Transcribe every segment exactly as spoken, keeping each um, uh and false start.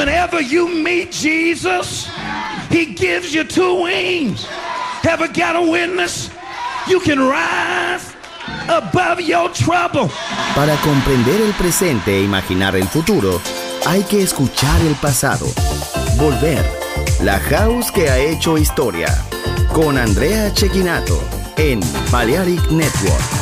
whenever you meet Jesus, he gives you two wings. Ever got a witness? You can rise above your trouble. Para comprender el presente e imaginar el futuro, hay que escuchar el pasado. Volver. La House que ha hecho historia. Con Andrea Cecchinato en Balearic Network.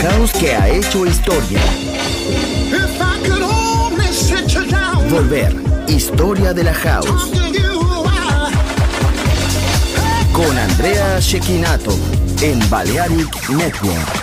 house que ha hecho historia. Volver, historia de la house. Con Andrea Cecchinato en Balearic Network.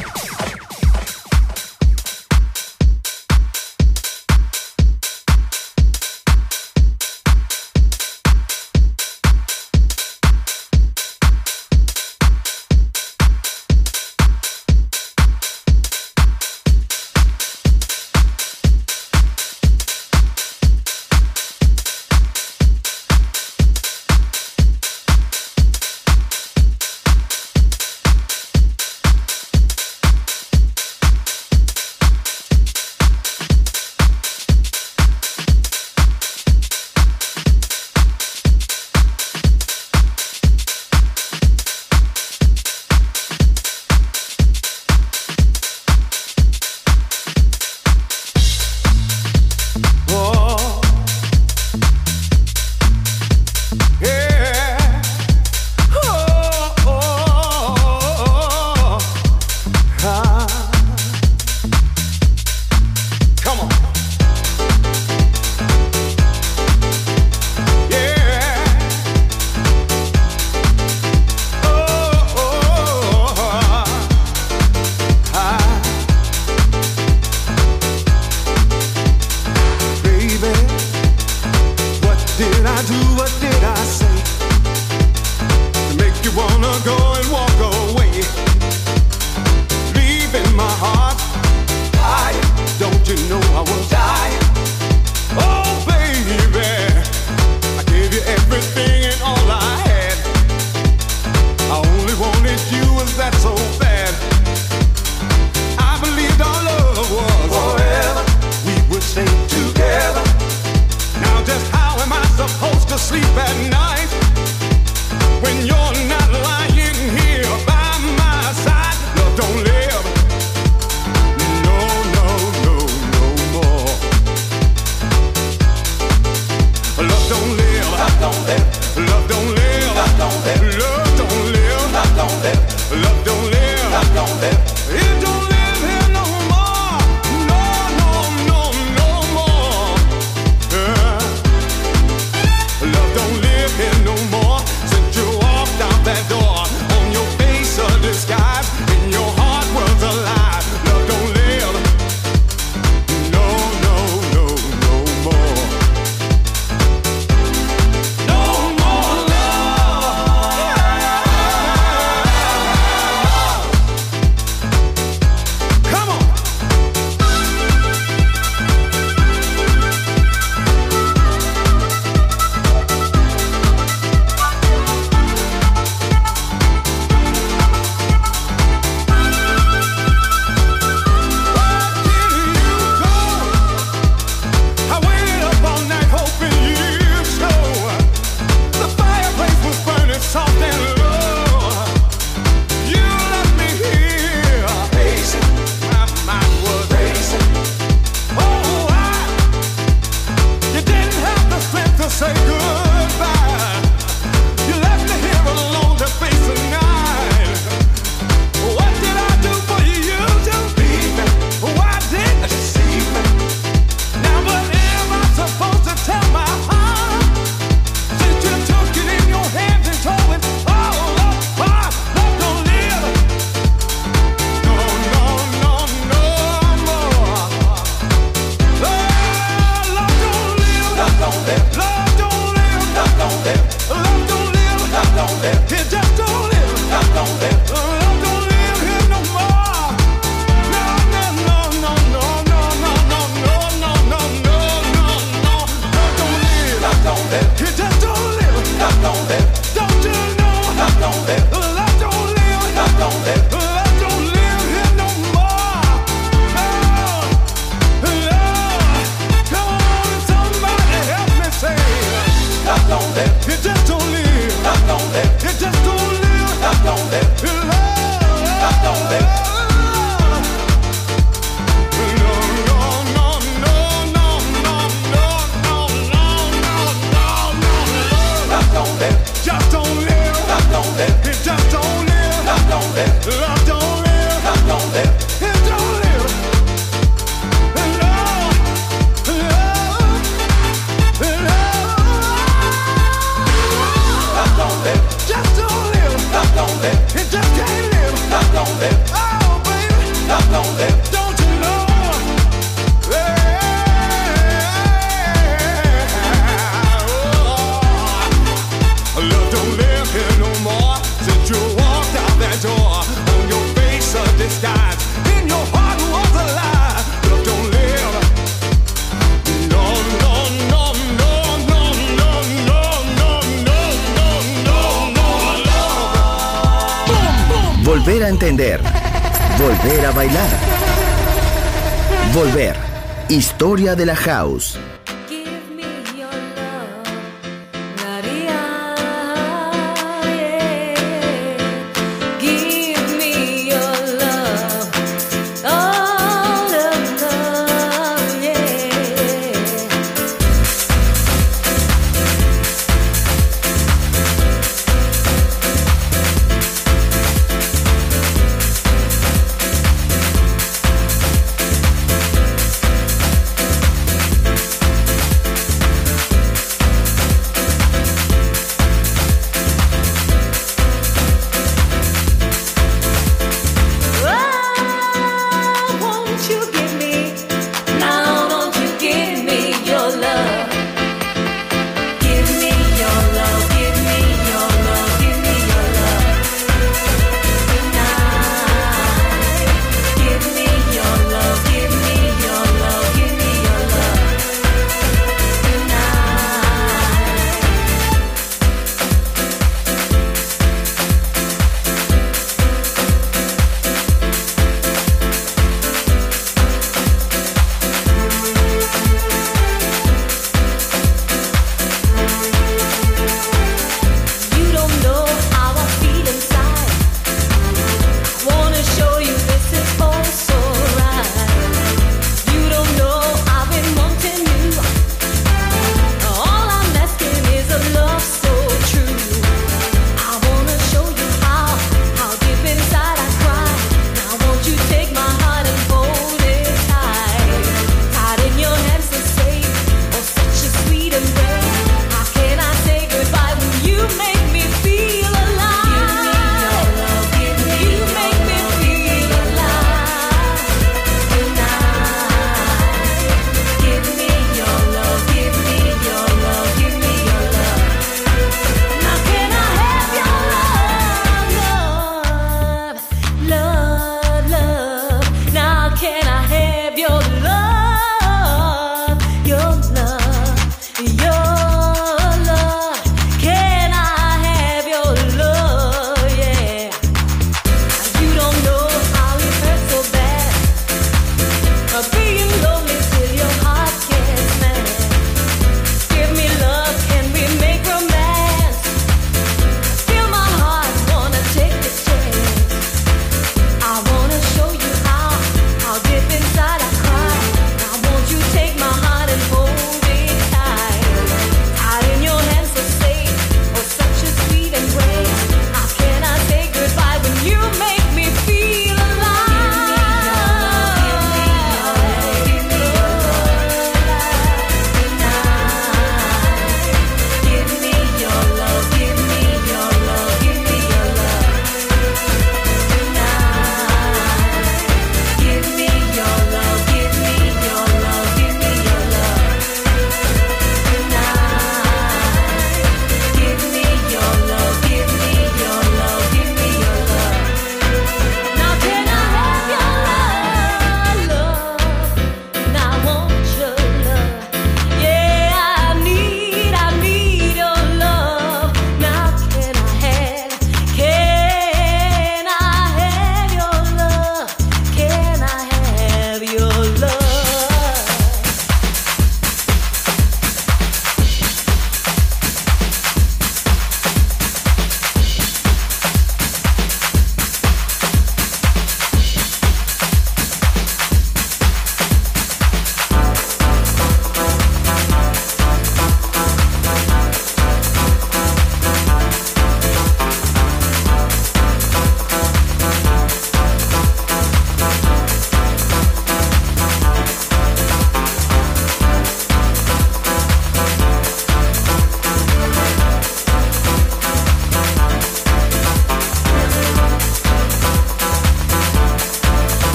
entender, volver a bailar. Volver. Historia de la house.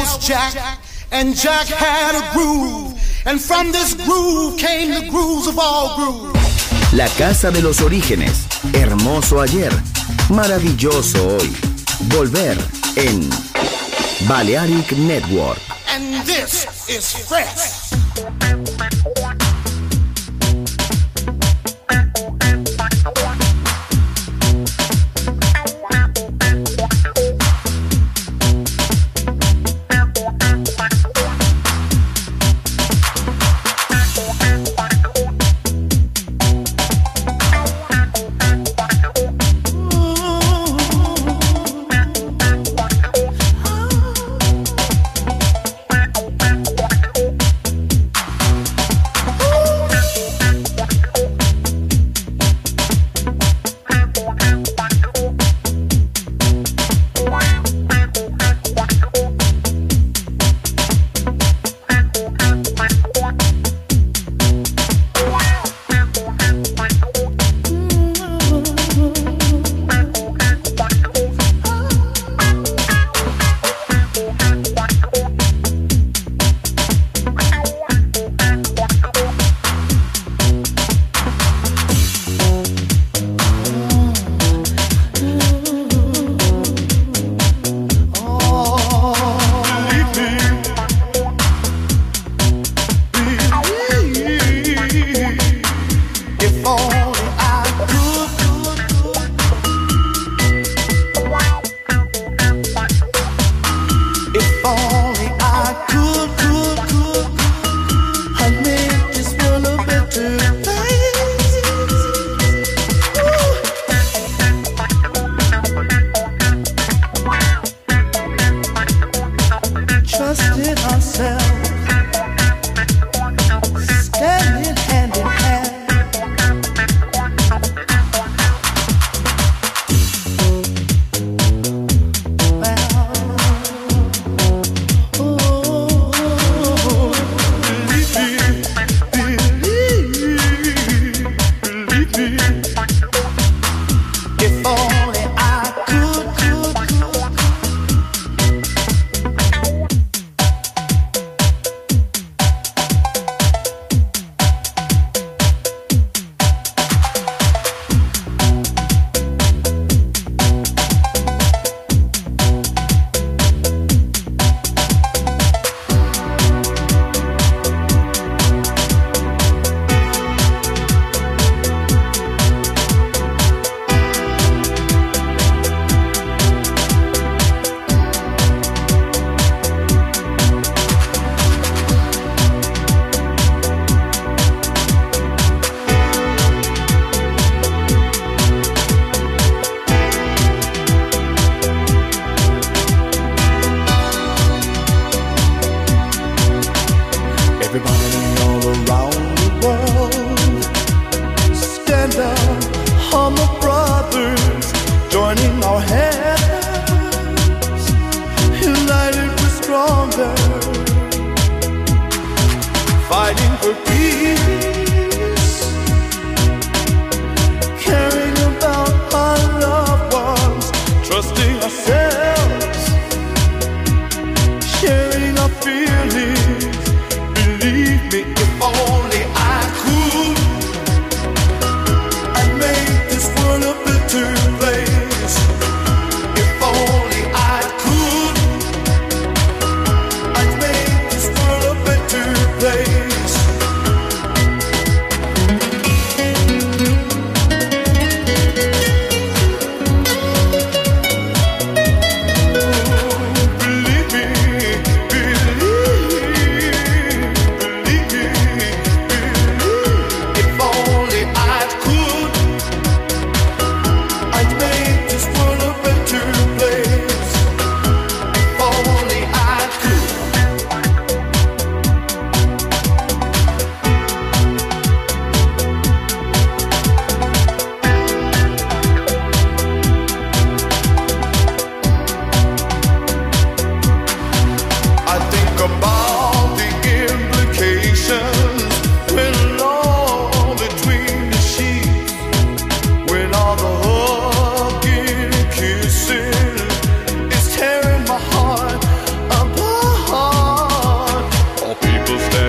was Jack, and Jack had a groove, and from this groove came the grooves of all grooves. La casa de los orígenes, hermoso ayer, maravilloso hoy. Volver en Balearic Network. And this is fresh.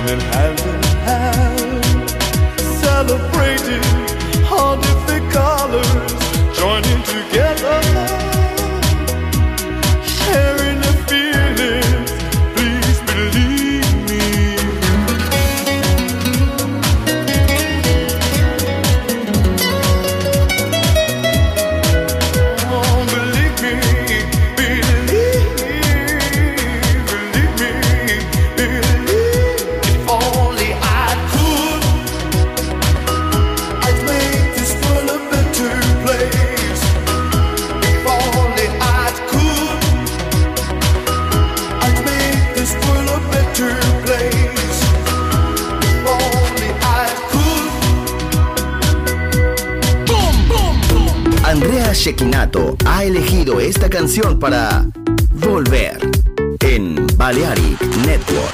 joining hand in hand, celebrating all different colors, joining together, sharing the feelings, please believe me. Oh, believe me, believe, believe me, believe. If only I could, I'd make this world a better place. If only I could, I'd make this world a better place. If only I could. Boom, boom, boom. Andrea Cecchinato ha elegido esta canción para Volver en Balearic Network.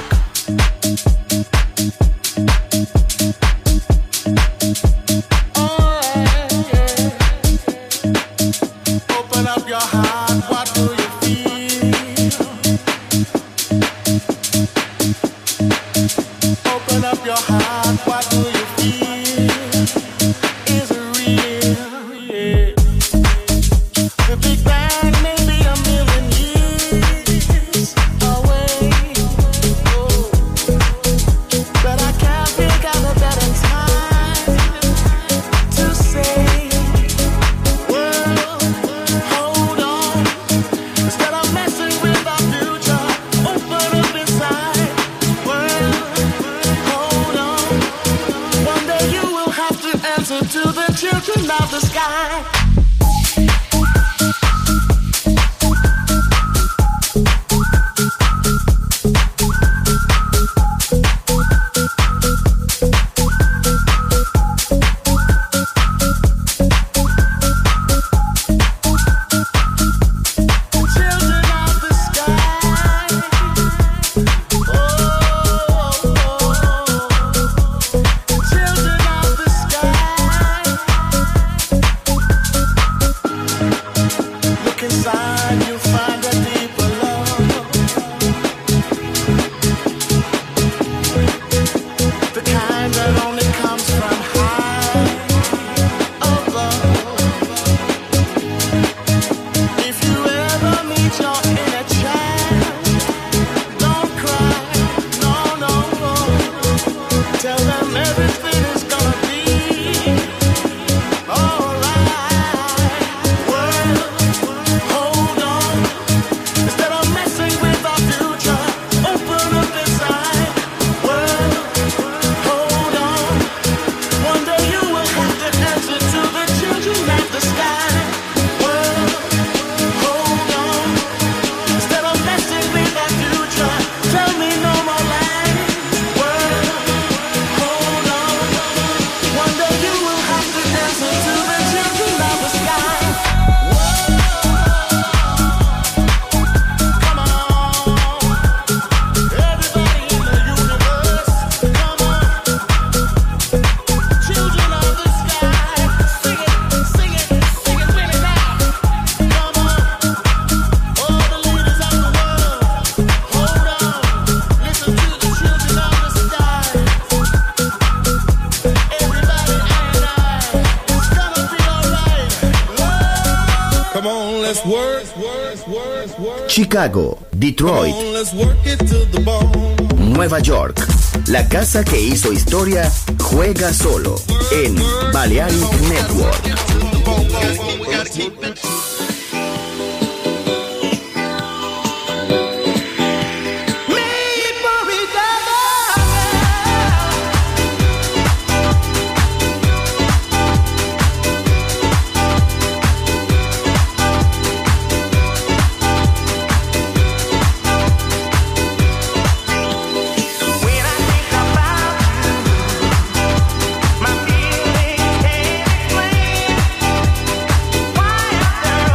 Open up your heart, what do you feel? Open up your heart, what do you feel? Is it real? Yeah. The Big Bang may be a million years away. Oh. But I can't think of a better time to say, world, hold on. Instead of messing with our future, open up inside. World, hold on. One day you will have to answer to the children of the sky. Children of the sky. Oh, children of the sky. Look inside, you'll find a deeper love. The kind that only comes from high above. If you ever meet your inner child, don't cry, no, no, no. Tell them everything is gonna be alright. World, hold on. Instead of messing with our future, open up inside. World, hold on. One day you will have to answer to the children of the sky. World, hold on. Instead of messing with our future, tell me no more lies. World, hold on. One day you will have to answer to the children of the sky. World, come on. Everybody in the universe, come on. Children of the sky, sing it, sing it, sing it with me now. Come on. All the leaders of the world, hold on. Listen to the children of the sky. Everybody, I and I, it's gonna be alright. Come on, let's work, work, work, work. Chicago, Detroit, Come on, let's work it to the bone. Nueva York. La casa que hizo historia juega solo en Balearic Network. When I think about you, my feelings can't explain why after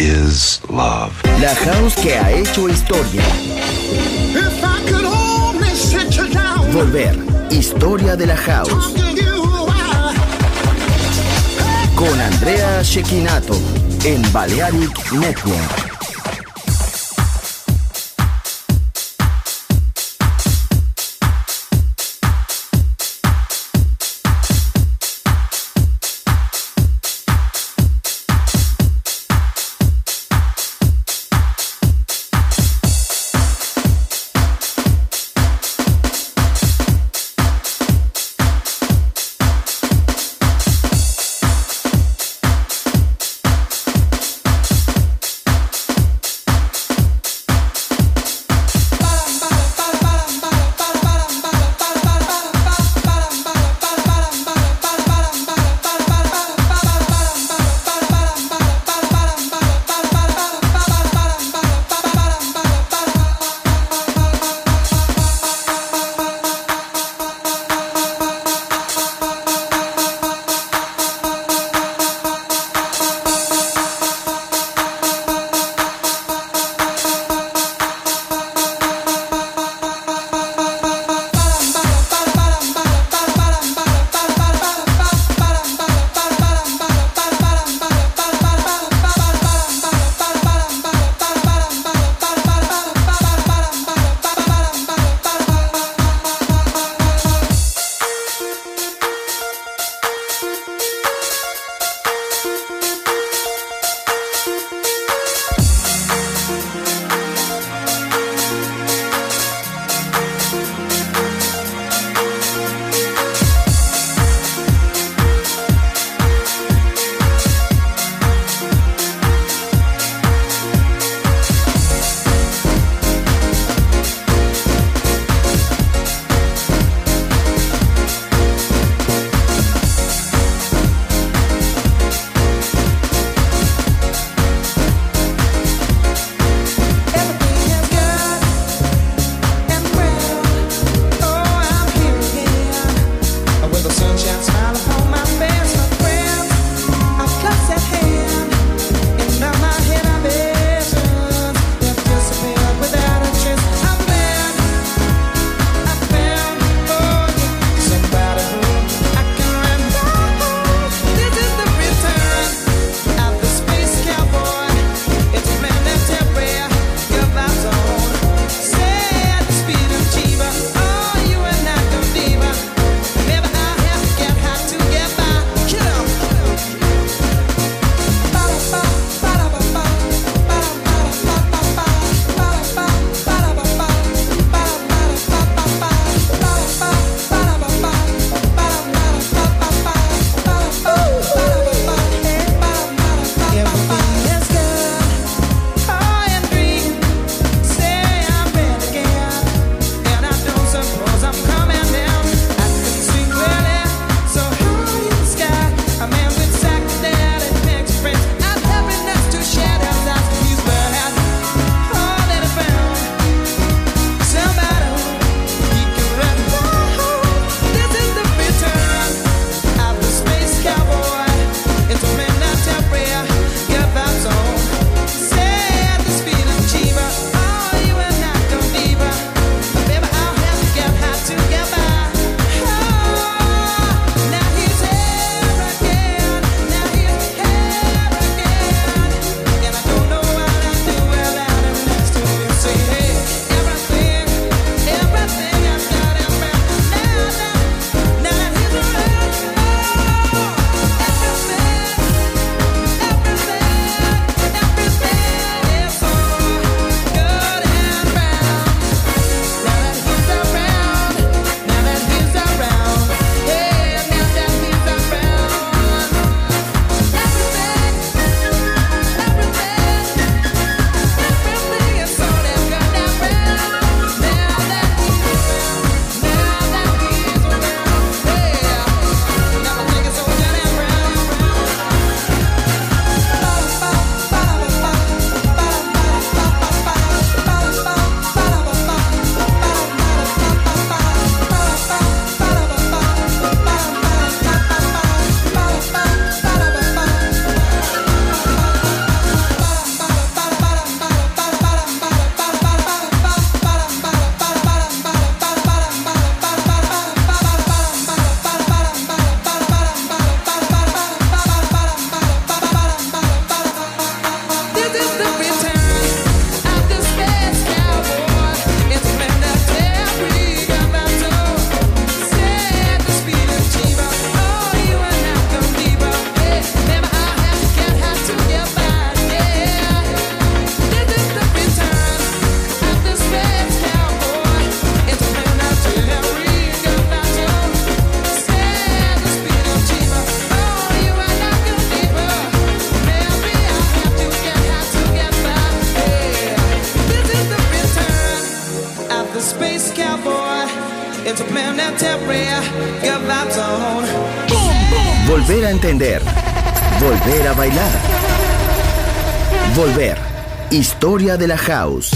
is love. La house que ha hecho historia. If I could only sit you down, Volver. Historia de la house. talk to you while Con Andrea Cecchinato en Balearic Network. space cowboy into planetary Gavatone. Volver a entender. Volver a bailar. Volver. Historia de la house.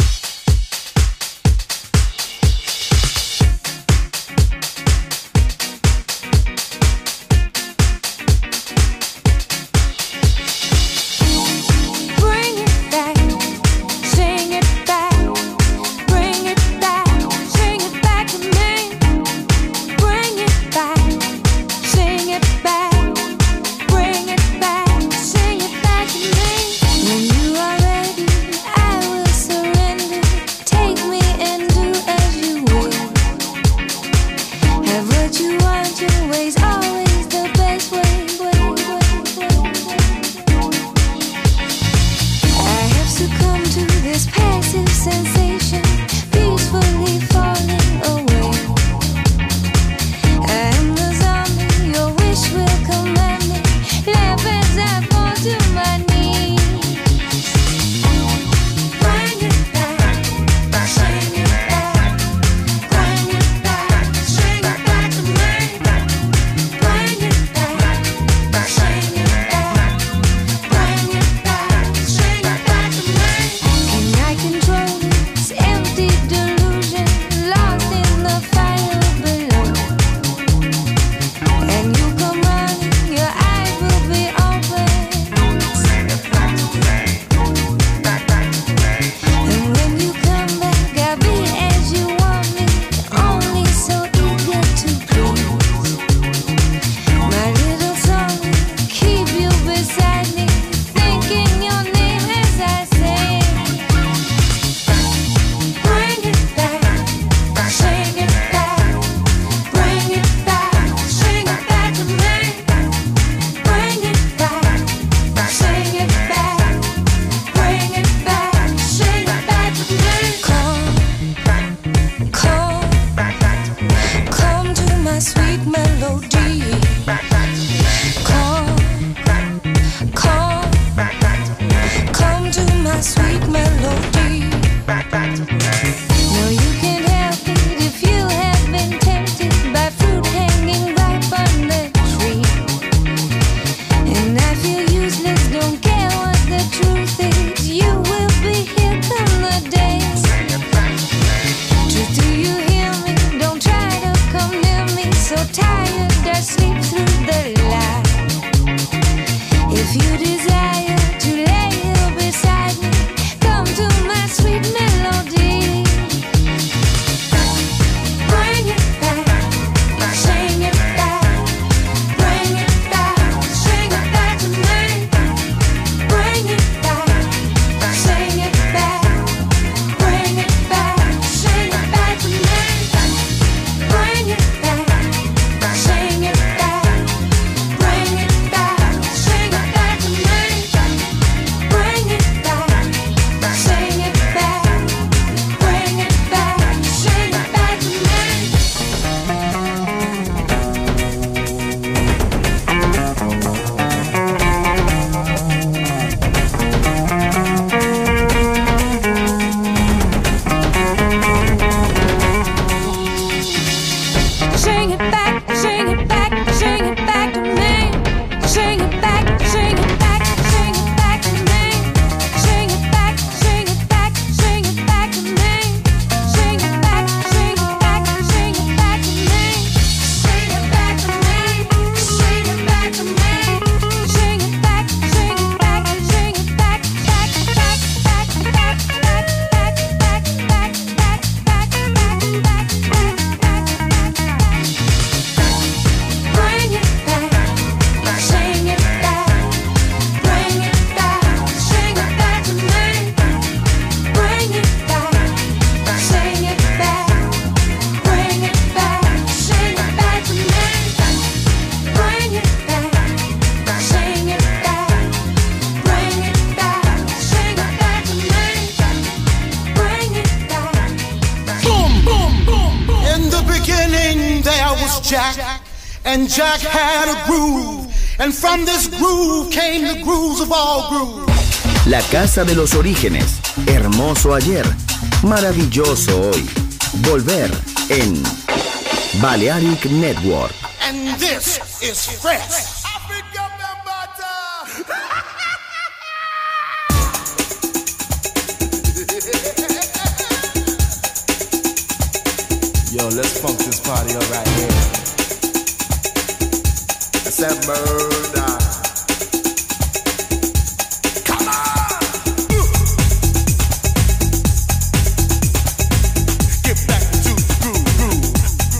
Jack, and Jack had a groove, and from this groove came the grooves of all grooves. La casa de los orígenes, hermoso ayer, maravilloso hoy. Volver en Balearic Network. And this is fresh. Yo, let's funk this party up right here. That's that murder. Come on! Get back to the groove, groove.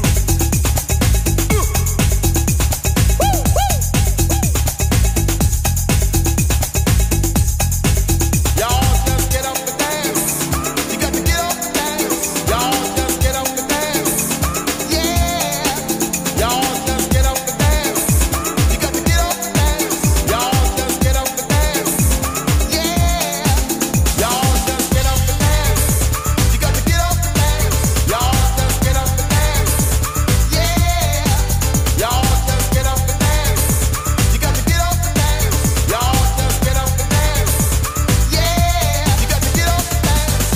Woo, woo. Y'all just get up and dance. You got to get up and dance. Y'all just get up and dance. Yeah. Y'all just get up and dance. You got to get up and dance. Y'all just get up and dance. Yeah. Y'all just get up and dance. You got to get up and dance. Y'all just get up and dance. Yeah. Y'all just get up and dance. You got to get up and dance. Y'all just get up and dance. Yeah. You got to get up and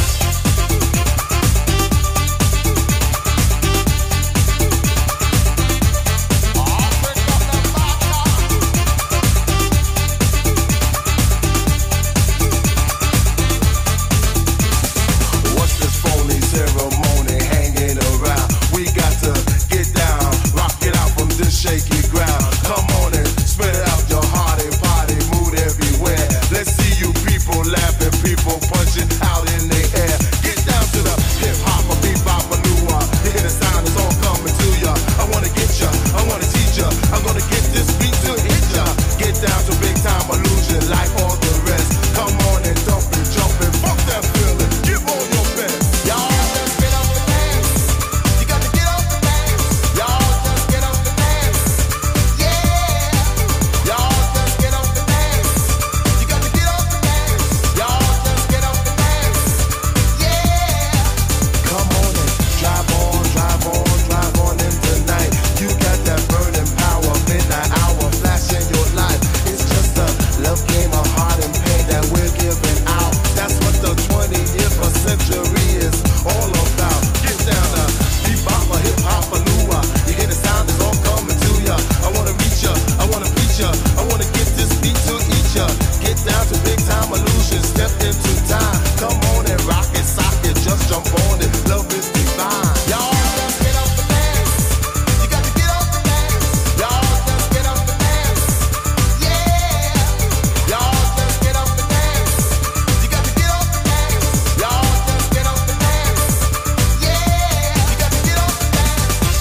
What's this phony ceremony hanging around? We got to get down, rock it out from this shaky ground. Come on and spread out your heart and party mood everywhere. Let's see you people laughing, people punching out in the air. Get down to the hip hop, a bebop, a new one. You hear the sound, it's all coming to ya. I wanna get ya, I wanna teach ya. I'm gonna get this beat to hit ya. Get down to big time illusion like all the rest. Come on and dump and jump and fuck that feeling. Give on your best. Y'all just get up and dance. You got to get up and dance. Y'all just get up and dance. Yeah. Y'all just get up and dance. You got to get up and dance. Y'all just get up and dance. Yeah. Come on and drive on, drive on, drive on in tonight. You got that burning power, midnight hour, flashing your life. It's just a love game of heart and pain that we're giving out. That's what the twentieth century is all about. Get down to bebop, a hip hop, a lua. You hear the sound, it's all coming to ya. I wanna reach ya, I wanna preach ya. I wanna get this beat to eat ya. Get down to big time illusion, step into time. Come on and rock it, sock it, just jump on it. Love is divine. Y'all just get up and dance. You got to get up and dance. Y'all just get up and dance. Yeah. Y'all just get up and dance. You got to get up and dance. Y'all just get up and dance. Yeah. You got to get up and dance.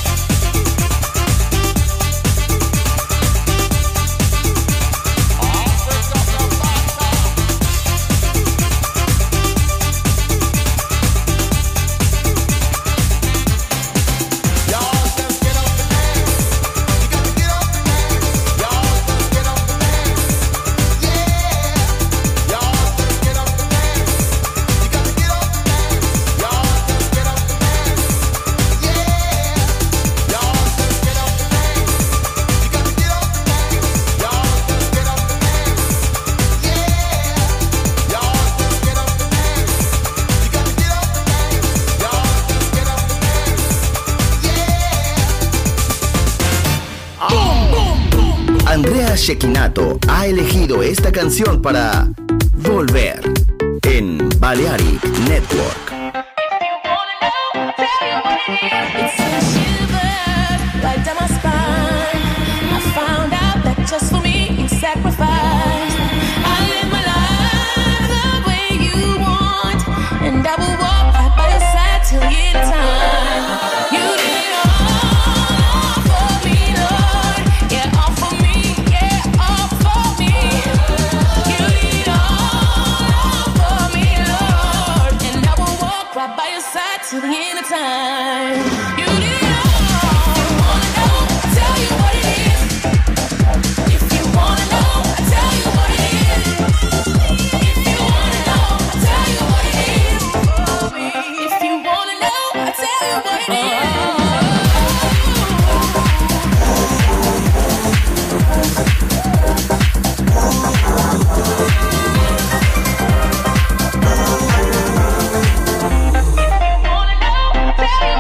Y'all just get up and dance. You got to get up and dance. Y'all just get up and dance. Yeah. Y'all just get up and dance. You got to get up and dance. Y'all just get up and dance. Yeah. Y'all just get up and dance. You got to get up and dance. Y'all just get up and dance. Yeah. Y'all just get up and dance. You got to get up and dance. Y'all just get up and dance. Andrea Cecchinato ha elegido esta canción para Volver en Balearic Network. It sends shivers right down my spine. I found out that just for me you sacrificed. I live my life the way you want, and I will walk right by your side till the end of time. You did it all for me, Lord. Yeah, all for me. Yeah, all for me. You did it all for me, Lord, and I will walk right by your side till the end of time. You did it all. If you wanna know, I'll tell you what it is. If you wanna know, I'll tell you what it is. If you wanna know, I'll tell you what it is. If you wanna know, I'll tell you what it is. If you wanna know, I'll tell you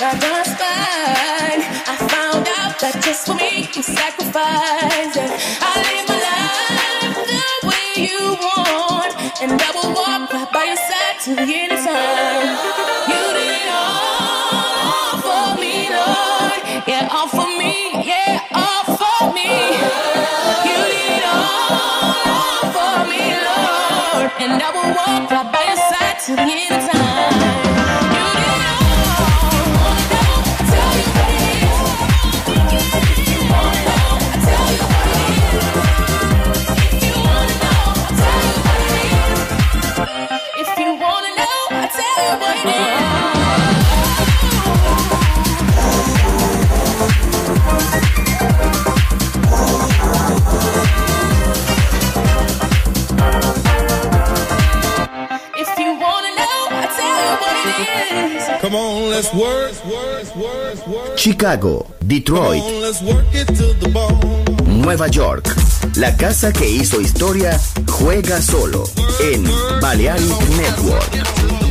right down my spine. I found out that just for me you sacrificed it. I live my life the way you want, and I will walk right by your side till the end of time. You did it all for me, Lord. Yeah, all for me. Yeah, all for me. You did it all for me, Lord, and I will walk right by your side till the end of time. Come on, let's work. Chicago, Detroit, Come on, let's work it to the bone. Nueva York. La casa que hizo historia juega solo en Balearic Network.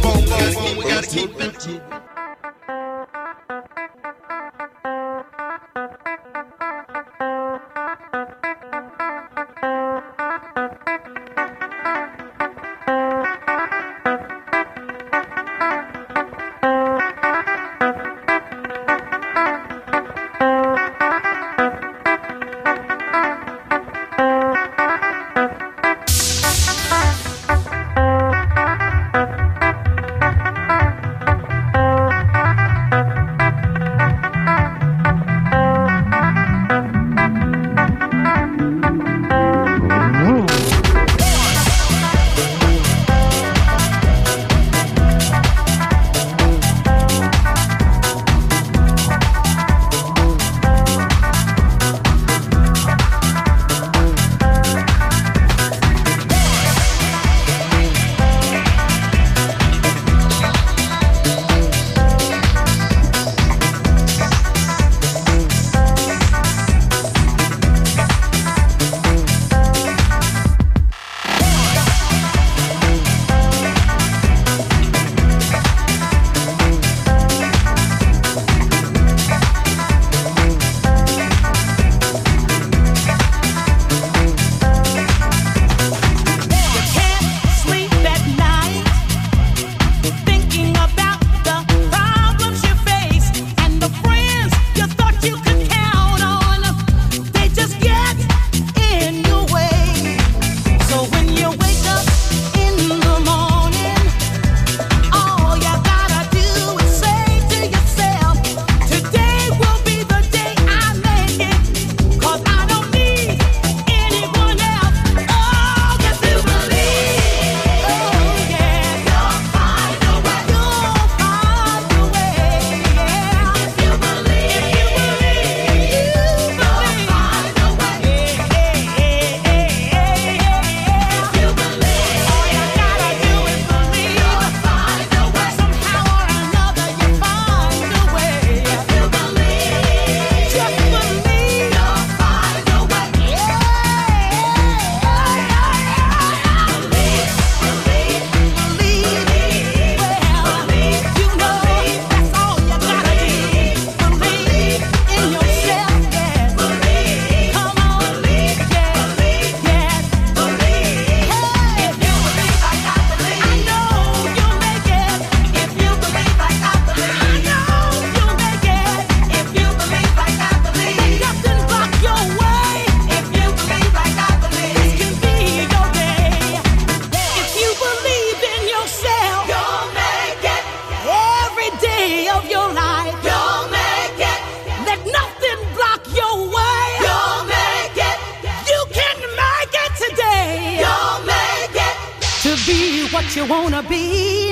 what you wanna be,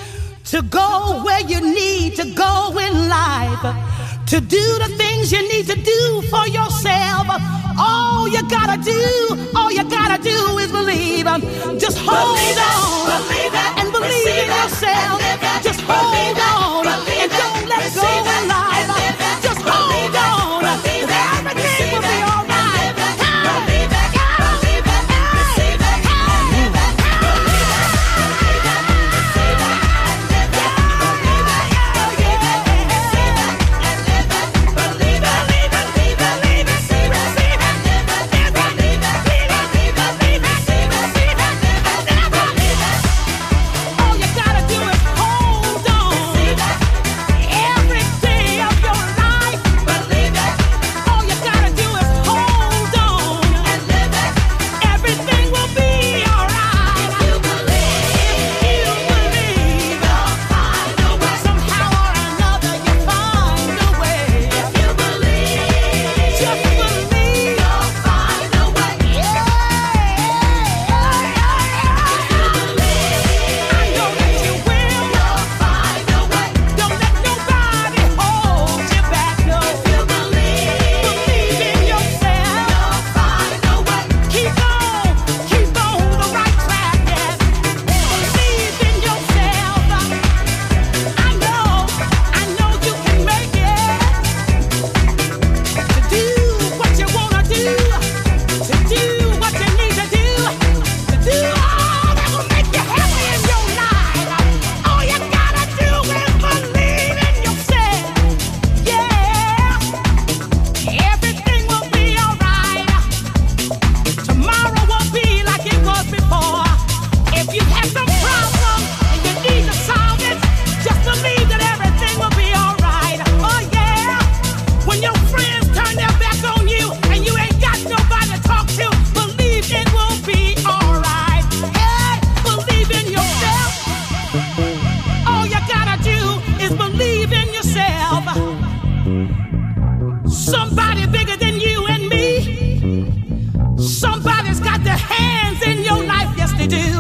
to go where you need to go in life, to do the things you need to do for yourself. All you gotta do, all you gotta do is believe. Just hold Believe it, on believe it, and believe receive in it, yourself. and live it. Just Believe hold it, on believe and it, don't let go receive it, in life. and live it. Just Believe hold it, on. believe it, Everything receive will be it, all and right. live it. Believe it, believe it, receive it, and live it. Believe it, believe it, receive it, and live it. Believe it, believe it, receive it, and live it.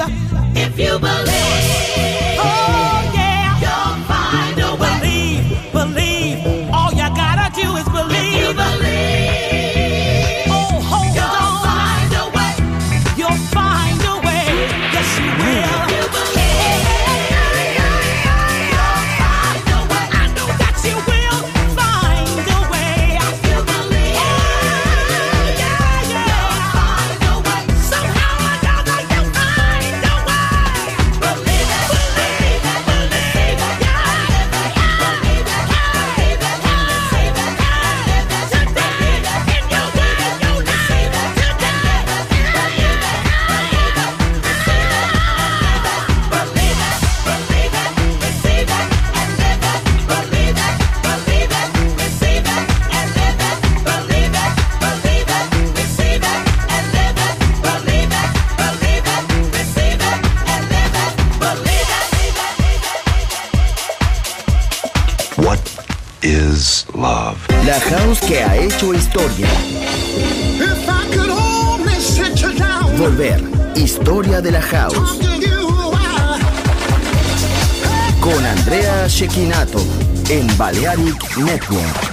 if you believe, oh yeah, you'll find a way. Believe, believe, all you gotta do is believe. If you believe, oh hold you'll on, find a way. You'll find a way, yes you will. If you believe, you'll find a way. I know that you will find a way. If you believe, oh yeah, yeah, you'll find a way. Somehow or another you'll find a way. Believe it, believe it, believe it, yeah. Believe it, believe it, believe it, believe it, today. In your way, your life, today. Believe it, believe it, receive it. Believe it, believe it, receive it, and live it. Believe it, believe it, receive it, and live it. Believe it, believe it, receive it, and live it. Believe it, believe it, receive it, and live it. Believe it. What is love? La house que ha hecho historia. If I could only sit you down, Volver. Historia de la house. talk to you a while. Con Andrea Cecchinato en Balearic Network.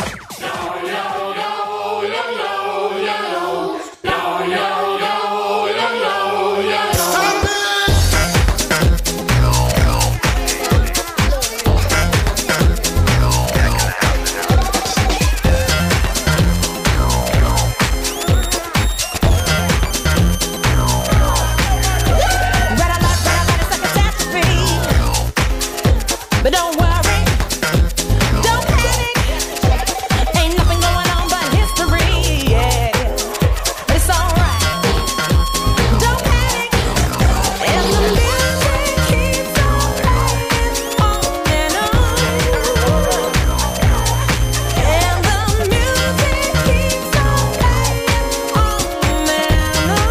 Red alert, red alert, it's a catastrophe. But don't worry, don't panic. Ain't nothing going on but history, yeah. It's alright. Don't panic. And the music keeps on playing on and on. And the music keeps on playing on and on.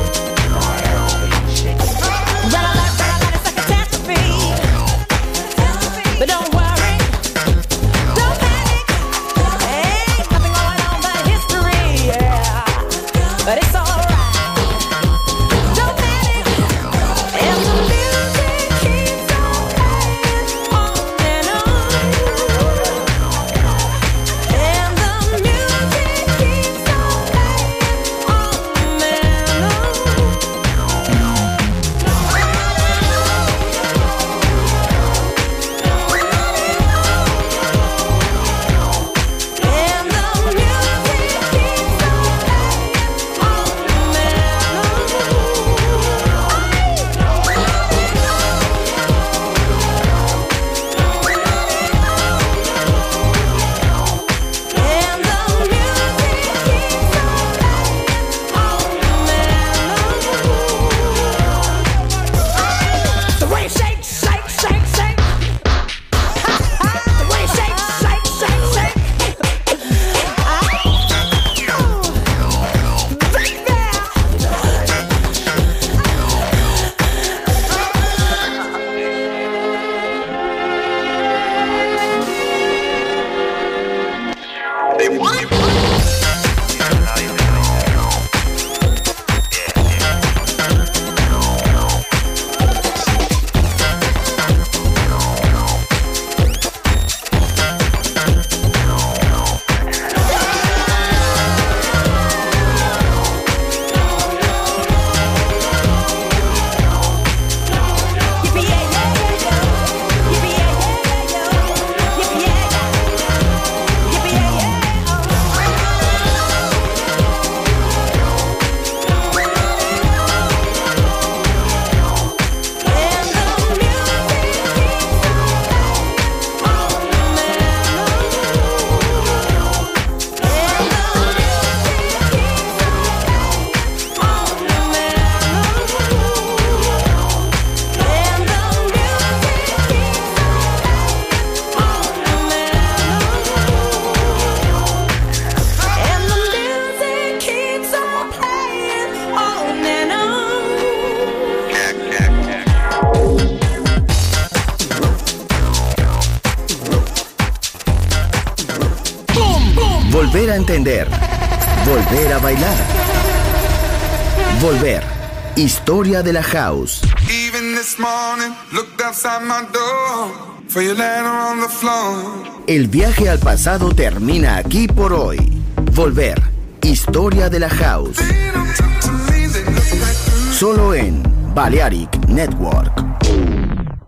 Red alert, red alert, it's a catastrophe. But don't worry, don't panic. Ain't nothing going on but history, yeah. But it's alright. Don't panic. And the music keeps on playing on and on. And the music keeps on playing on and on. And the music keeps on playing on and on. And the music keeps on playing on and on. The way it shakes, shake, shake, shake. The way it shakes, shake, shake, shake. Yippee yeah yeah yeah yo. Yippee yeah yeah yeah yo. Yippee yeah yeah. Yippee yeah yeah. Volver a entender. Volver a bailar. Volver. Historia de la House. Even this morning, looked outside my door for your letter on the floor. El viaje al pasado termina aquí por hoy. Volver. Historia de la House. Solo en Balearic Network.